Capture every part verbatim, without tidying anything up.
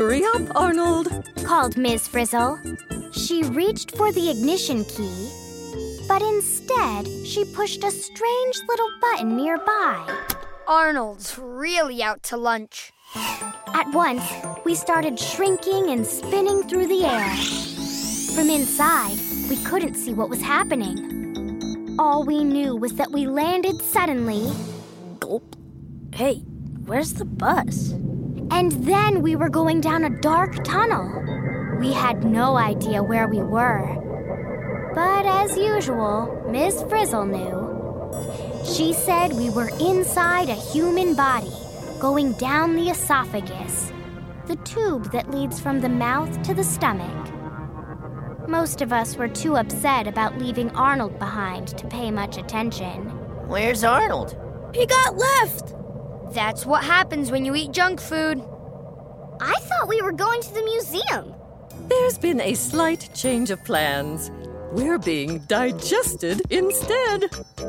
Hurry up, Arnold, called Miz Frizzle. She reached for the ignition key, but instead she pushed a strange little button nearby. Arnold's really out to lunch. At once, we started shrinking and spinning through the air. From inside, we couldn't see what was happening. All we knew was that we landed suddenly. Gulp. Hey, where's the bus? And then we were going down a dark tunnel. We had no idea where we were. But as usual, Miz Frizzle knew. She said we were inside a human body, going down the esophagus, the tube that leads from the mouth to the stomach. Most of us were too upset about leaving Arnold behind to pay much attention. Where's Arnold? He got left! That's what happens when you eat junk food. I thought we were going to the museum. There's been a slight change of plans. We're being digested instead.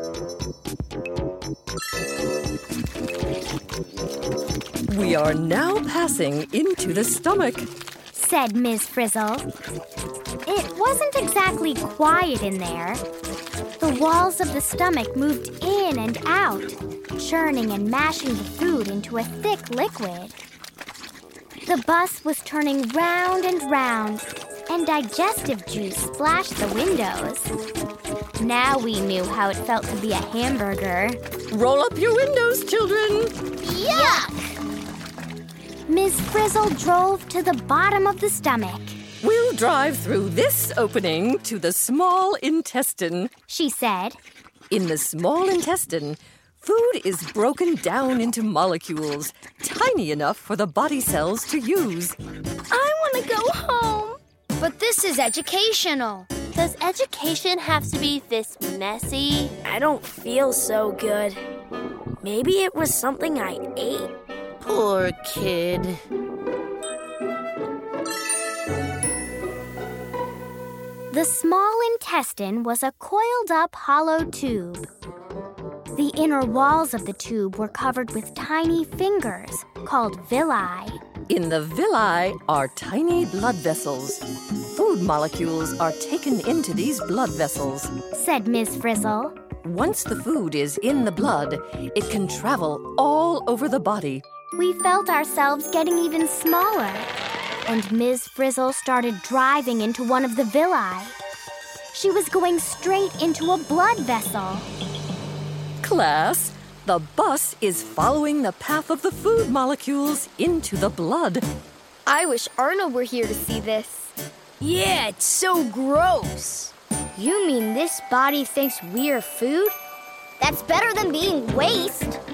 We are now passing into the stomach, said Miz Frizzle. It wasn't exactly quiet in there. The walls of the stomach moved in and out, churning and mashing the food into a thick liquid. The bus was turning round and round, and digestive juice splashed the windows. Now we knew how it felt to be a hamburger. Roll up your windows, children. Yuck! Miz Frizzle drove to the bottom of the stomach. We'll drive through this opening to the small intestine, she said. In the small intestine, food is broken down into molecules, tiny enough for the body cells to use. I want to go home. But this is educational. Does education have to be this messy? I don't feel so good. Maybe it was something I ate. Poor kid. The small intestine was a coiled-up hollow tube. The inner walls of the tube were covered with tiny fingers called villi. In the villi are tiny blood vessels. Food molecules are taken into these blood vessels, said Miz Frizzle. Once the food is in the blood, it can travel all over the body. We felt ourselves getting even smaller, and Miz Frizzle started driving into one of the villi. She was going straight into a blood vessel. Class, the bus is following the path of the food molecules into the blood. I wish Arnold were here to see this. Yeah, it's so gross. You mean this body thinks we're food? That's better than being waste.